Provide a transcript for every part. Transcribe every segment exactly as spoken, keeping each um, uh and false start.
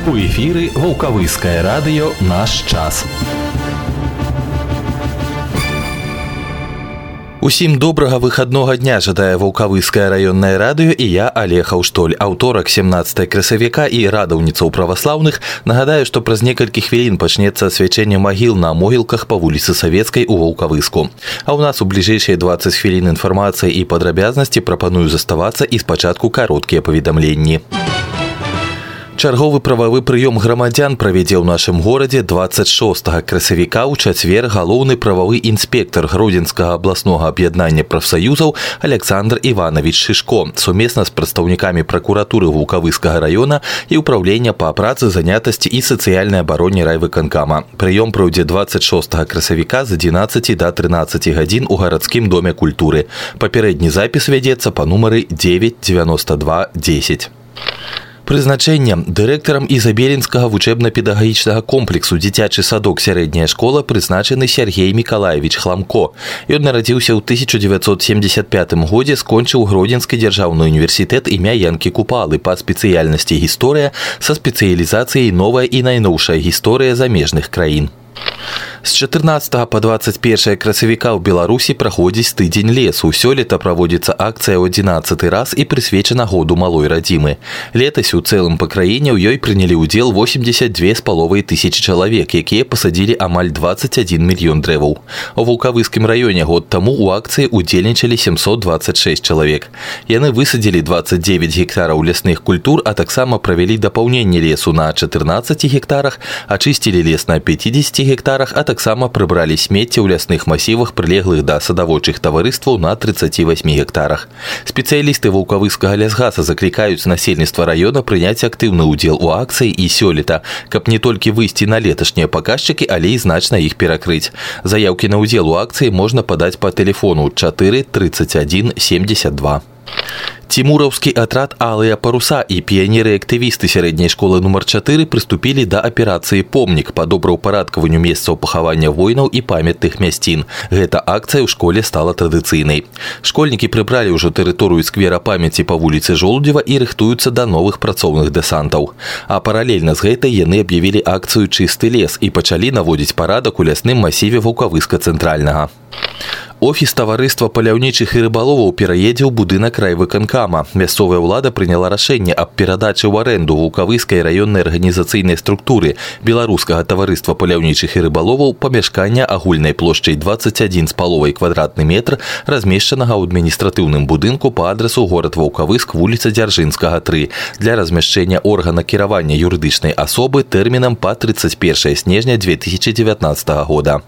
У эфіры Ваўкавыскае радыё «Наш час». Усім добрага выхаднога дня жадае Ваўкавыскае раённае радыё і я, Олег Аўштоль, аўторак семнаццатага красавіка і радаўніцаў праваслаўных. Нагадаю, што праз некалькі хвілін пачнецца асвячэнне магіл на могілках па вуліцы Савецкай у Ваўкавыску. А ў нас у бліжэйшыя дваццаць хвілін інфармацыі і падрабязнасці. Прапаную заставацца і спачатку кароткія паведамленні. Чарговы прававы прыём грамадзян правядзе ў нашым горадзе дваццаць шостага красавіка ў чацвер галоўны прававы інспектар Гродзенскага абласнога аб'яднання прафсаюзаў Александр Іванович Шишко сумесна з прадстаўнікамі пракуратуры Ваўкавыскага раёна і ўправлення па працы, занятасці і сацыяльнай абароне райвыканкама. Прыём пройдзе дваццаць шостага красавіка з адзінаццаці да трынаццаці гадзін у гарадскім доме культуры. Папярэдні запіс вядзецца па нумары девять девяносто два десять. Прызначэннем дырэктарам Ізабелінскага вучэбна-педагагічнага комплексу дзіцячы садок сярэдняя школа прызначаны Сергей Мікалаевич Хламко. Ён нарадзіўся ў тысяча дзевяцьсот семьдесят пятым годзе, скончыў Гродзенскі дзяржаўны універсітэт імя Янкі Купалы па спецыяльнасці гісторыя са спецыялізацыяй новая і найноўшая гісторыя замежных краін. З чатырнаццатага па дваццаць першае красавіка ў Беларусі праходзіць тыдзень лесу. Сёлета праводзіцца акцыя ў адзінаццаты раз і прысвечана году малой радзімы. Летась у цэлым па краіне ў ёй прынялі ўдзел восемьдесят две з паловай тысячы чалавек, якія пасадзілі амаль дваццаць адзін мільён дрэваў. У Ваўкавыскім раёне год таму ў акцыі удзельнічалі сямсот дваццаць шэсць чалавек. Яны высадзілі дваццаць дзевяць гектараў лясных культур, а таксама правялі дапаўненне лесу на чатырнаццаці гектарах, ачысцілі лес на пяцідзесяці гектарах, а таксама прыбралі смецце ў лясных масівах, прылеглых да садаводчых таварыстваў на трыццаці васьмі гектарах. Спецыялісты Ваўкавыскага лясгаса заклікаюць насельніцтва раёна прыняць актыўны ўдзел у акцыі і сёлета, каб не толькі выйсці на леташнія паказчыкі, але і значна іх перакрыць. Заяўкі на ўдзел у акцыі можна падаць па тэлефону чатыры трыццаць адзін семьдесят два. Цімураўскі атрад «Алыя паруса» і піянеры-актывісты сярэдняй школы нумар чатыры прыступілі да аперацыі «Помнік» па добраўпарадкаванню месцаў пахавання воінаў і памятных мясцін. Гэта акцыя ў школе стала традыцыйнай. Школьнікі прыбралі ўжо тэрыторыю сквера памяці па вуліцы Жолудзева і рыхтуюцца да новых працоўных дэсантаў. А паралельна з гэтай яны аб'явілі акцыю «Чысты лес» і пачалі наводзіць парадак у лясным масіве Ваўкавыска цэнтральнага. Офіс таварыства паляўнічых і рыбаловаў пераедзе ў будынак райвыканкама. Мясцовая ўлада прыняла рашэнне аб перадачы ў арэнду Ваўкавыскай раённай арганізацыйнай структуры беларускага таварыства паляўнічых і рыбаловаў памяшкання агульнай плошчай дваццаць адзін з паловай квадратны метр, размешчанага ў адміністратыўным будынку па адрасу горад Ваўкавыск, вуліца Дзяржынскага тры, для размяшчэння органа кіравання юрыдычнай асобы тэрмінам па трыццаць першае снежня две тысячи девятнадцатага года.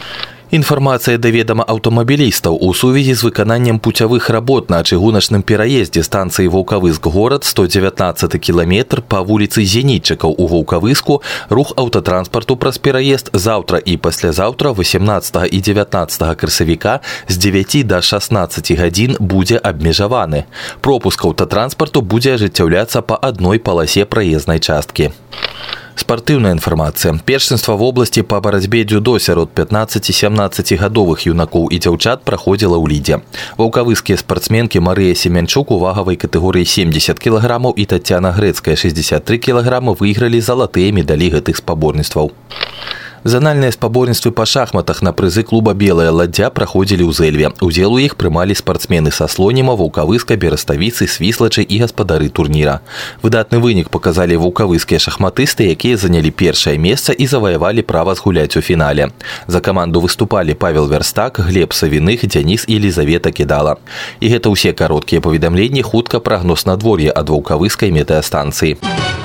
Інфармацыя да ведама аўтамабілістаў у сувязі з выкананнем пуцявых работ на чыгуначным пераездзе станцыі Ваўкавыск-горад сто дзевятнаццаты кіламетр па вуліцы Зенітчыкаў у Ваўкавыску рух аўтатранспарту праз пераезд заўтра і паслязаўтра васемнаццатага і дзевятнаццатага красавіка з дзевяці да шаснаццаці гадзін будзе абмежаваны. Пропуск аўтатранспарту будзе ажыццяўляцца па адной паласе праезнай часткі. Спартыўная інфармацыя. Першынства в обласці па барацьбе дзюдо сярод пятнаццаці-сямнаццаці гадовых юнакоў і дзяўчат праходзіла ў Лідзе. Ваўкавыскія спартсменкі Марыя Семянчук у вагавай катэгорыі семьдесят кілаграмаў і Таццяна Грэцкая шэсцьдзесят тры кілаграмы выйгралі залатыя медалі гэтых спаборніцтваў. Занальныя спаборніцтвы па шахматах на прызы клуба «Белая ладдзя» праходзілі ў Зэльве. Удзел у іх прымалі спартсмены са Слоніма, Ваўкавыска, Бераставіцы, Свіслачы і гаспадары турніра. Выдатны вынік паказалі ваўкавыскія шахматысты, якія занялі першае месца і заваявалі права згуляць у фінале. За каманду выступалі Павел Верстак, Глеб Савіных, Дзяніс і Елізавета Кідала. І гэта ўсе кароткія паведамленні, хутка прагноз надвор'я ад ваўкавыскай метэастанцыі.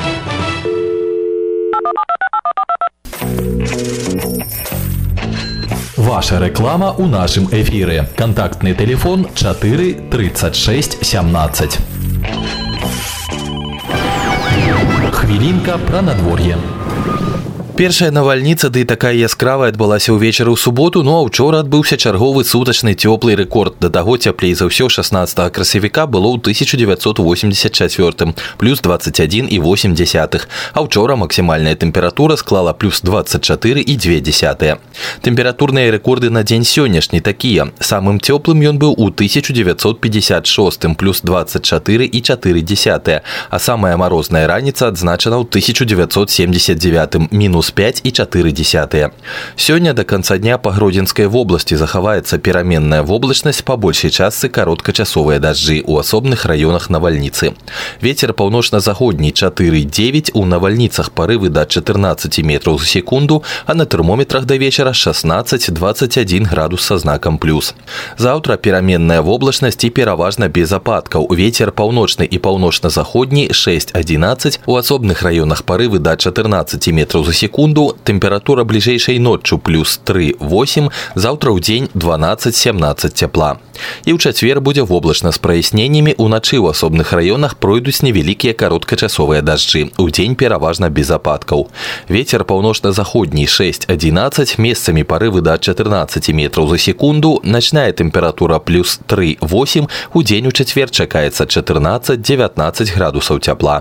Ваша реклама у нашым эфіры. Контактный телефон чатыры трыццаць шэсць сямнаццаць. Хвілінка пра надвор'е. Першая навальніца, ды такая яскравая, адбылася ўвечары ў суботу, ну а ўчора адбыўся чарговы сутачны цёплы рэкорд. Да таго цяплей за ўсё шаснаццатага красавіка было ў тысяча дзевяцьсот восемьдесят чацвёртым, плюс двадцать один и восемь десятых, а ўчора максімальная тэмпература склала плюс двадцать четыре и две десятых. Тэмпературныя рэкорды на дзень сённяшні такія. Самым цёплым ён быў у тысяча дзевяцьсот пятьдесят шостым, плюс двадцать четыре и четыре десятых, а самая морозная раніца адзначана ў тысяча дзевяцьсот семьдесят девятым, минус пять и четыре десятых. Сёння до конца дня по Гродзенскай вобласці захаваецца пераменная воблачнасць, па большай частцы кароткачасовыя дажджы, у асобных раёнах навальніцы. Вецер паўночна-заходні четыре девять, у навальніцах парывы до четырнадцати метров за секунду, а на термометрах до вечера шестнадцать двадцать один градус со знаком плюс. Завтра пераменная воблачнасць и пераважна без ападкаў. Ветер паўночны и паўночна-заходні шесть одиннадцать, у асобных раёнах парывы до четырнадцати метров за секунду. Температура ближайшей ночью плюс три восемь, завтра у день двенадцать семнадцать тепла. И ў чацвер будзе воблачна з праясненнямі, уначы ў асобных раёнах пройдуць невялікія кароткачасовыя дажджы, у дзень пераважна без ападкаў. Ветер паўночна-заходні шесть одиннадцать, месцамі парывы до четырнадцати метров за секунду, ночная температура плюс три восемь, у дзень у чацвер чакаецца четырнадцать девятнадцать градусаў тепла.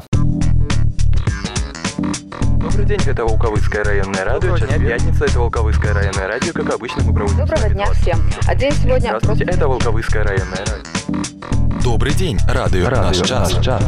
Добрый день, это Волковыцкое районное радио. Час пятница, это Волковыцкое районное радио. Как обычно, мы проводим... Доброго дня всем. А день сегодня... Здравствуйте, это Волковыцкое районное радио. Добрый день, радио, радио «Наш час». Наш час.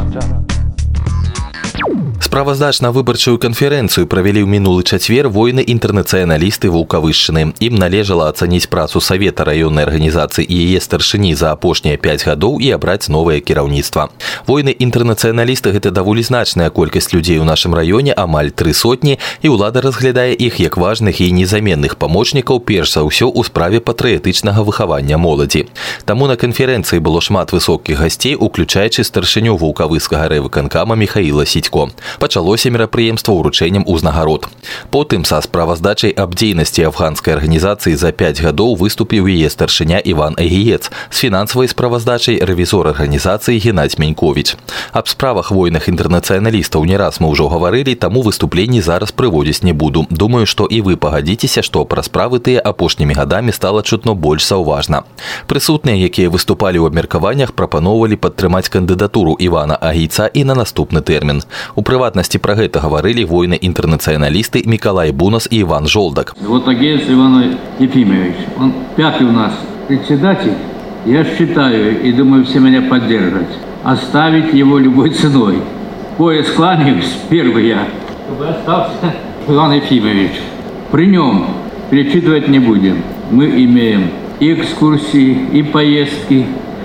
Справаздачна-выбарчую канферэнцыю правялі ў мінулы чацвер воіны-інтэрнацыяналісты Ваўкавышчыны. Ім належала ацаніць працу Савета раённай арганізацыі і яе старшыні за апошнія пяць гадоў і абраць новае кіраўніцтва. Воіны-інтэрнацыяналісты – гэта даволі значная колькасць людзей у нашым раёне, амаль тры сотні, і ўлада разглядае іх як важных і незаменных памочнікаў, перш за ўсё ў справе патрыятычнага выхавання моладзі. Таму на канферэнцыі было шмат высокіх гасцей, уключаючы старшыню Ваўкавыцкага райвыканкама Михаіла Сідько. Пачалося мерапрыемства ўручэннем узнагарод. Потым са справаздачай аб дзейнасці афганскай арганізацыі за пяць гадоў выступіў яе старшыня Іван Агіец, з фінансавай справаздачай рэвізор арганізацыі Геннадзь Менькович. Аб справах воінах інтэрнацыяналістаў не раз мы ўжо гаварылі, таму выступленні зараз прыводзіць не буду. Думаю, што і вы пагадзіцеся, што пра справы тыя апошнімі гадамі стала чутно больш заўважна. Прысутныя, якія выступалі ў абмеркаваннях, прапаноўвалі падтрымаць кандыдатуру Івана Агійца і на наступны тэрмін. У прыватнасці пра гэта гаварылі воіны-інтэрнацыяналісты Миколай Бунас и Иван Жолдак. Вот Агеец Иван Ефимович, он пятый у нас председатель. Я считаю, и думаю, все меня поддержат, оставить его любой ценой. Пояс кланяюсь, первый я, чтобы остался Иван Ефимович. При нем перечитывать не будем. Мы имеем и экскурсии, и поездки,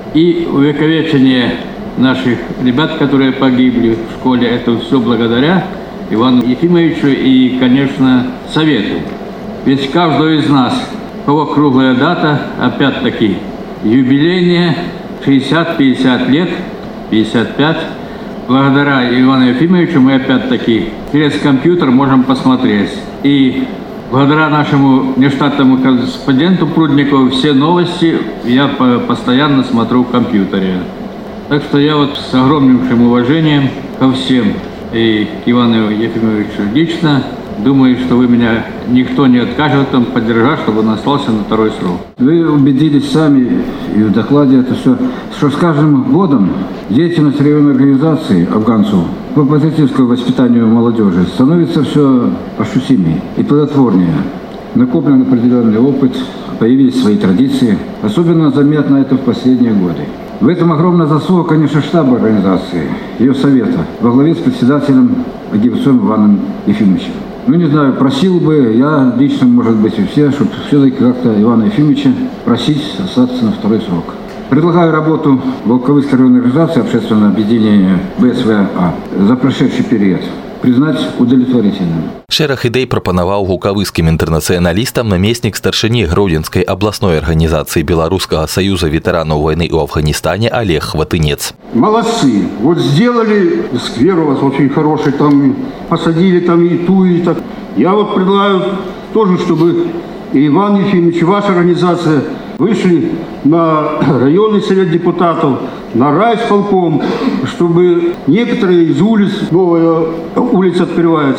и увековечение наших ребят, которые погибли в школе. Это все благодаря Ивану Ефимовичу и, конечно, Совету. Ведь каждого из нас, у кого круглая дата, опять-таки, юбилейная, шестьдесят пятьдесят лет, пятьдесят пять. Благодаря Ивану Ефимовичу мы опять-таки через компьютер можем посмотреть. И благодаря нашему нештатному корреспонденту Прудникову все новости я постоянно смотрю в компьютере. Так что я вот с огромнейшим уважением ко всем и к Ивану Ефимовичу лично думаю, что вы меня никто не откажет там поддержать, чтобы он остался на второй срок. Вы убедились сами и в докладе это все, что с каждым годом деятельность районной организации афганцев по патриотическому воспитанию молодежи становится все ощутимее и плодотворнее. Накоплен определенный опыт, появились свои традиции. Особенно заметно это в последние годы. В этом огромная заслуга, конечно, штаба организации, ее совета, во главе с председателем Агеевцом Иваном Ефимовичем. Ну, не знаю, просил бы я лично, может быть, и все, чтобы все-таки как-то Ивана Ефимовича просить остаться на второй срок. Предлагаю работу Волковыцкой районной организации общественного объединения ВСВА за прошедший период признать удовлетворительным. Шэраг ідэй прапанаваў ваўкавыскім інтэрнацыяналістам намеснік старшыні Гродзенскай абласной арганізацыі Беларускага саюза ветэранаў войны ў Афганистане Олег Хватынец. Молодцы! Вот сделали сквер у вас очень хороший, там посадили там и ту, и так. Я вот предлагаю тоже, чтобы и Иван Ефимович, и ваша организация вышли на районный совет депутатов, на райисполком, чтобы некоторые из улиц, новая улица открывается,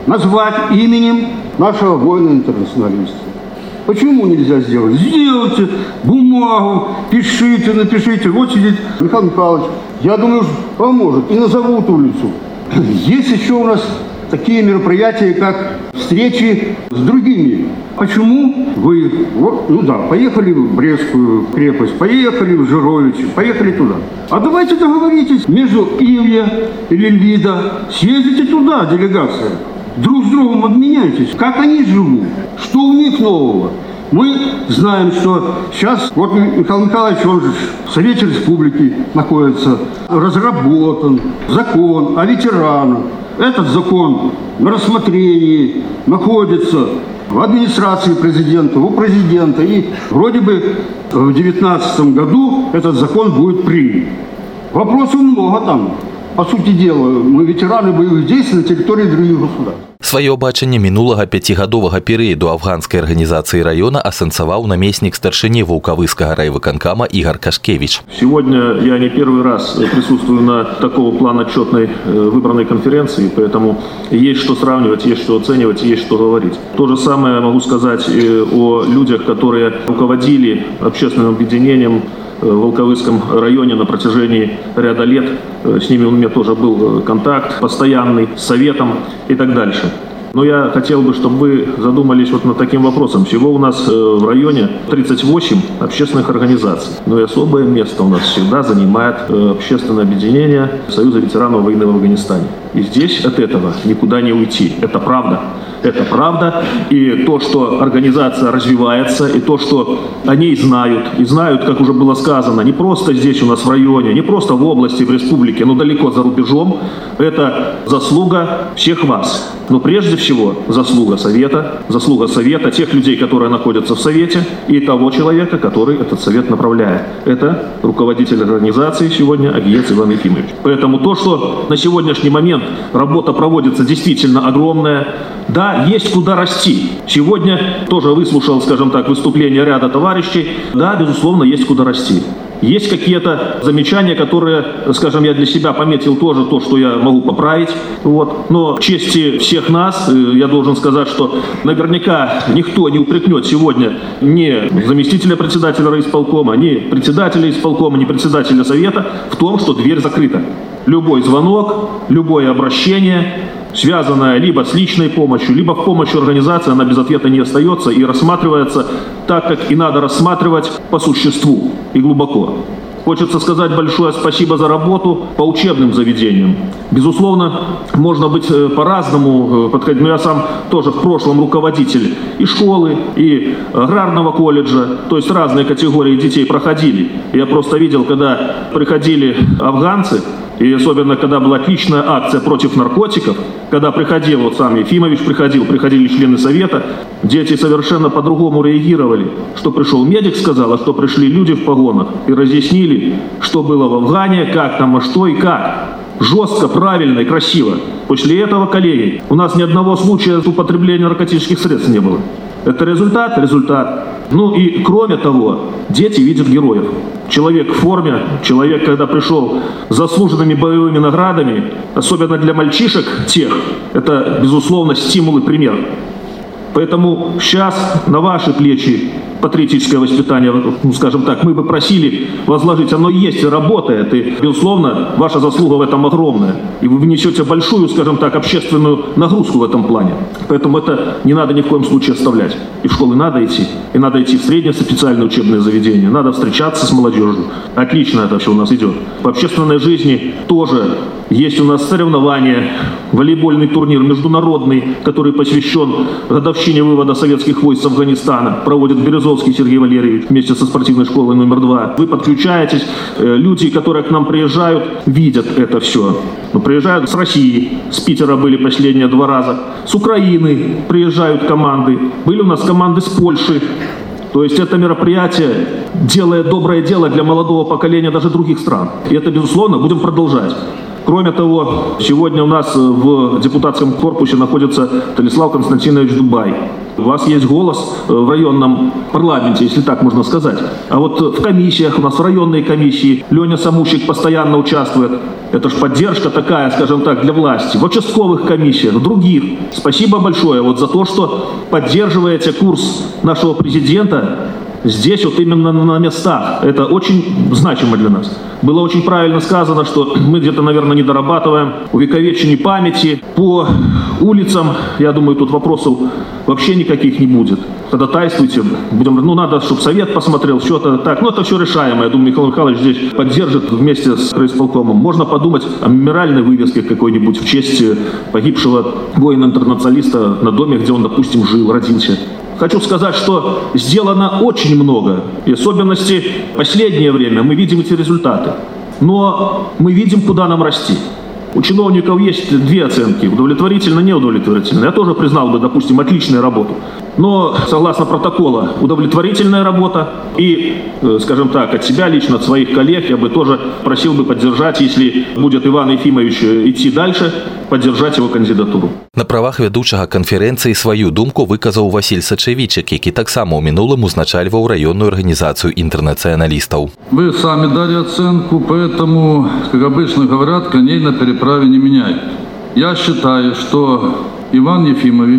назвать именем нашего воина-интернационалиста. Почему нельзя сделать? Сделайте бумагу, пишите, напишите. Вот сидит Михаил Михайлович, я думаю, поможет. И назовут улицу. Есть еще у нас такие мероприятия, как встречи с другими. Почему вы, вот, ну да, поехали в Брестскую крепость, поехали в Жировичи, поехали туда. А давайте договоритесь между Ивья и Лельвида, съездите туда, делегация. Друг с другом обменяйтесь, как они живут, что у них нового. Мы знаем, что сейчас, вот Михаил Михайлович, он же в Совете Республики находится, разработан закон о ветеранах. Этот закон на рассмотрении находится в администрации президента, у президента. И вроде бы в две тысячи девятнадцатом году этот закон будет принят. Вопросов много там. По сути дела, мы ветераны боевых действий на территории других государств. Свое бачанне мінулага пяцігадовага перыяду афганскай арганізацыі раёна асэнсаваў намеснік старшыні Ваўкавыскага райвыканкама Игорь Кашкевич. Сегодня я не первый раз присутствую на такого плана отчетной выбранной конференции, поэтому есть что сравнивать, есть что оценивать, есть что говорить. То же самое могу сказать о людях, которые руководили общественным объединением в Волковыском районе на протяжении ряда лет. С ними у меня тоже был контакт постоянный, с советом и так дальше. Но я хотел бы, чтобы вы задумались вот над таким вопросом. Всего у нас в районе тридцать восемь общественных организаций. Но и особое место у нас всегда занимает общественное объединение Союза ветеранов войны в Афганистане. И здесь от этого никуда не уйти. Это правда. Это правда. И то, что организация развивается, и то, что о ней знают, и знают, как уже было сказано, не просто здесь у нас в районе, не просто в области, в республике, но далеко за рубежом, это заслуга всех вас. Но прежде всего заслуга Совета, заслуга Совета, тех людей, которые находятся в Совете, и того человека, который этот Совет направляет. Это руководитель организации сегодня Агиец Иван Ефимович. Поэтому то, что на сегодняшний момент работа проводится действительно огромная, да, есть куда расти. Сегодня тоже выслушал, скажем так, выступление ряда товарищей. Да, безусловно, есть куда расти. Есть какие-то замечания, которые, скажем, я для себя пометил тоже то, что я могу поправить. Вот. Но в чести всех нас, я должен сказать, что наверняка никто не упрекнет сегодня ни заместителя председателя райисполкома, ни председателя исполкома, ни председателя совета в том, что дверь закрыта. Любой звонок, любое обращение, связанная либо с личной помощью, либо в помощи организации, она без ответа не остается и рассматривается так, как и надо рассматривать по существу и глубоко. Хочется сказать большое спасибо за работу по учебным заведениям. Безусловно, можно быть по-разному подходить, но я сам тоже в прошлом руководитель и школы, и аграрного колледжа, то есть разные категории детей проходили. Я просто видел, когда приходили афганцы, и особенно, когда была отличная акция против наркотиков, когда приходил, вот сам Ефимович приходил, приходили члены совета, дети совершенно по-другому реагировали. Что пришел медик, сказал, а что пришли люди в погонах и разъяснили, что было в Афгане, как там, а что и как. Жестко, правильно и красиво. После этого, коллеги, у нас ни одного случая употребления наркотических средств не было. Это результат? Результат. Ну и кроме того, дети видят героев. Человек в форме, человек, когда пришел с заслуженными боевыми наградами, особенно для мальчишек тех, это, безусловно, стимул и пример. Поэтому сейчас на ваши плечи патриотическое воспитание, ну, скажем так, мы бы просили возложить. Оно есть и работает, и, безусловно, ваша заслуга в этом огромная. И вы внесете большую, скажем так, общественную нагрузку в этом плане. Поэтому это не надо ни в коем случае оставлять. И в школы надо идти, и надо идти в средние специальные учебные заведения, надо встречаться с молодежью. Отлично это все у нас идет. В общественной жизни тоже есть у нас соревнования, волейбольный турнир международный, который посвящен годовщине вывода советских войск с Афганистана, проводит Березовский Сергей Валерьевич вместе со спортивной школой номер два. Вы подключаетесь, люди, которые к нам приезжают, видят это все. Но приезжают с России, с Питера были последние два раза, с Украины приезжают команды, были у нас команды с Польши. То есть это мероприятие делает доброе дело для молодого поколения даже других стран. И это, безусловно, будем продолжать. Кроме того, сегодня у нас в депутатском корпусе находится Станислав Константинович Дубай. У вас есть голос в районном парламенте, если так можно сказать. А вот в комиссиях, у нас в районной комиссии Леня Самущик постоянно участвует. Это же поддержка такая, скажем так, для власти. В участковых комиссиях, в других. Спасибо большое вот за то, что поддерживаете курс нашего президента здесь вот именно на местах. Это очень значимо для нас. Было очень правильно сказано, что мы где-то, наверное, не дорабатываем увековечение памяти по улицам. Я думаю, тут вопросов вообще никаких не будет. Ходатайствуйте. Будем, ну, надо, чтобы совет посмотрел, что-то так. Ну, это все решаемо. Я думаю, Михаил Михайлович здесь поддержит вместе с райисполкомом. Можно подумать о мемориальной вывеске какой-нибудь в честь погибшего воина-интернационалиста на доме, где он, допустим, жил, родился. Хочу сказать, что сделано очень много. И особенности в последнее время мы видим эти результаты. Но мы видим, куда нам расти. У чиновников есть две оценки: удовлетворительно, неудовлетворительно. Я тоже признал бы, допустим, отличную работу. Но, согласно протокола, удовлетворительная работа. И, скажем так, от себя лично, от своих коллег, я бы тоже просил бы поддержать, если будет Иван Ефимович идти дальше, поддержать его кандидатуру. На правах ведучага канферэнцыі сваю думку выказаў Васіль Сачавічак, які таксама ў мінулым узначальваў раённую арганізацыю інтэрнацыяналістаў. Вы сами дали оценку, поэтому, как обычно говорят, коней на переправе не меняют. Я считаю, что Иван Ефимович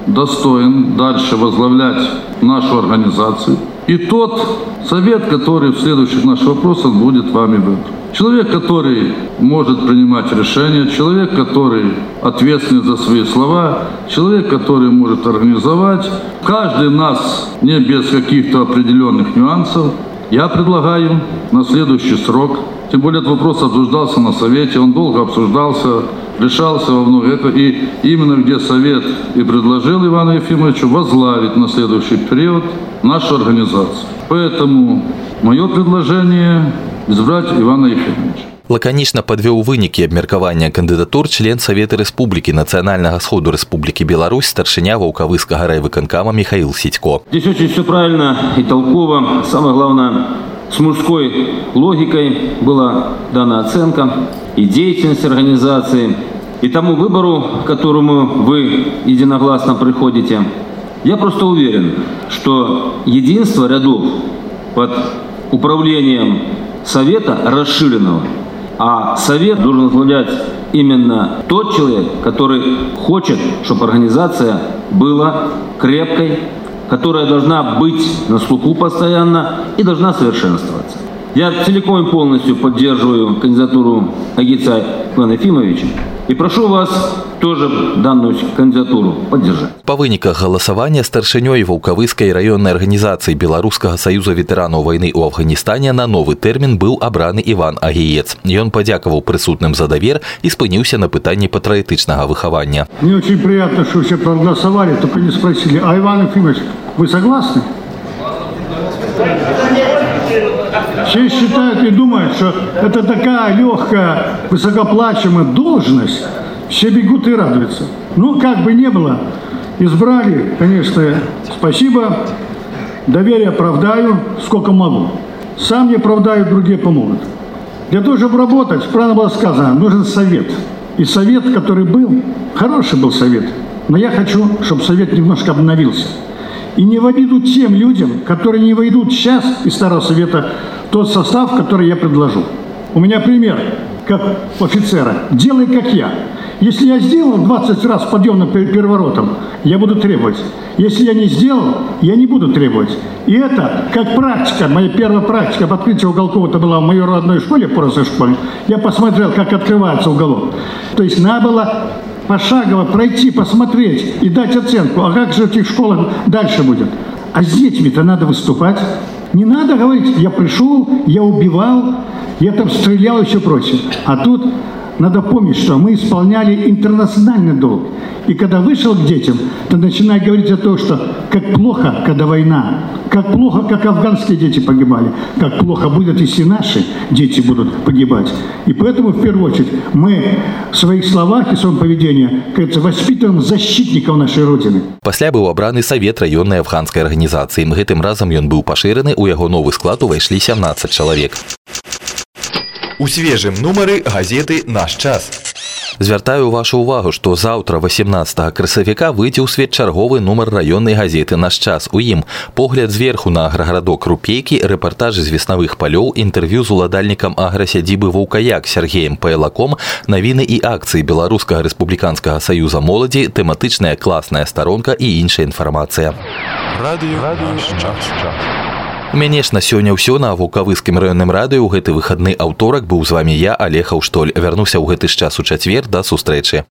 достоин дальше возглавлять нашу организацию. И тот совет, который в следующих наших вопросах будет вами выбран. Человек, который может принимать решения, человек, который ответственен за свои слова, человек, который может организовать. Каждый нас, не без каких-то определенных нюансов, я предлагаю на следующий срок, тем более этот вопрос обсуждался на совете, он долго обсуждался, решался во много этого, и именно где совет и предложил Ивану Ефимовичу возглавить на следующий период нашу организацию. Поэтому мое предложение – избрать Ивана Ефимовича. Лаканічна падвёў вынікі абмеркавання кандыдатур член Савета Рэспублікі Нацыянальнага сходу Рэспублікі Беларусь, старшыня Ваўкавыскага райвыканкама Михаил Сидько. Здесь очень все правильно и толково. Самое главное, с мужской логикой была дана оценка и деятельность организации, и тому выбору, к которому вы единогласно приходите. Я просто уверен, что единство рядов под управлением Совета расширенного, а Совет должен возглавлять именно тот человек, который хочет, чтобы организация была крепкой, которая должна быть на слуху постоянно и должна совершенствоваться. Я целиком и полностью поддерживаю кандидатуру Агица Ивана Ефимовича и прошу вас тоже данную кандидатуру поддержать. По выніках галасавання старшынёй Ваўкавыскай раённай арганізацыі Беларускага саюза ветэранаў вайны ў Афганістане на новы тэрмін быў абраны Іван Агіец. Ён падзякаваў прысутным за давер и спыніўся на пытанні патрыятычнага выхавання. Мне очень приятно, что все проголосовали, только не спросили: а Иван Ефимович, вы согласны? Все считают и думают, что это такая легкая, высокоплачиваемая должность. Все бегут и радуются. Ну, как бы ни было, избрали, конечно, спасибо. Доверие оправдаю, сколько могу. Сам не оправдаю, другие помогут. Для того, чтобы работать, правильно было сказано, нужен совет. И совет, который был, хороший был совет. Но я хочу, чтобы совет немножко обновился. И не в обиду тем людям, которые не войдут сейчас из Старого Совета в тот состав, который я предложу. У меня пример, как офицера. Делай, как я. Если я сделал двадцать раз подъем на переворотом, я буду требовать. Если я не сделал, я не буду требовать. И это как практика, моя первая практика по открытию уголков, это была в моей родной школе, Поросовой школе. Я посмотрел, как открывается уголок. То есть надо было пошагово пройти, посмотреть и дать оценку. А как же в этих школах дальше будет? А с детьми-то надо выступать. Не надо говорить: я пришел, я убивал, я там стрелял и все прочее. А тут надо помнить, что мы исполняли интернациональный долг. И когда вышел к детям, то начинай говорить о том, что как плохо, когда война, как плохо, как афганские дети погибали, как плохо будет, если наши дети будут погибать. И поэтому, в первую очередь, мы в своих словах и в своем поведении, кажется, воспитываем защитников нашей Родины. Пасля быў абраны Савет раённай афганскай арганізацыі. Гэтым разам ён быў пашыраны, у яго новы склад увайшлі сямнаццаць чалавек. У свежым нумары газеты «Наш час». Звяртаю вашу увагу, што заўтра васемнаццатага красавіка выйдзе ў свет чарговы нумар раённай газеты «Наш час». У ім погляд зверху на аграгарадок Рупейкі, рэпартажы з веснавых палёў, інтэрв'ю з уладальнікам аграсядзібы «Ваўкаяк» Сергеем Пайлаком, навіны і акцыі Беларускага рэспубліканскага саюза моладзі, тэматычная класная старонка і іншая інфармацыя. Радыё «Наш час». У мяне ж на сёння ўсё. На Ваўкавыскім раённым радыё ў гэты выхадны аўторак быў з вамі я, Алег Аўштоль. Вярнуся ў гэты ж час у чацвер. Да сустрэчы.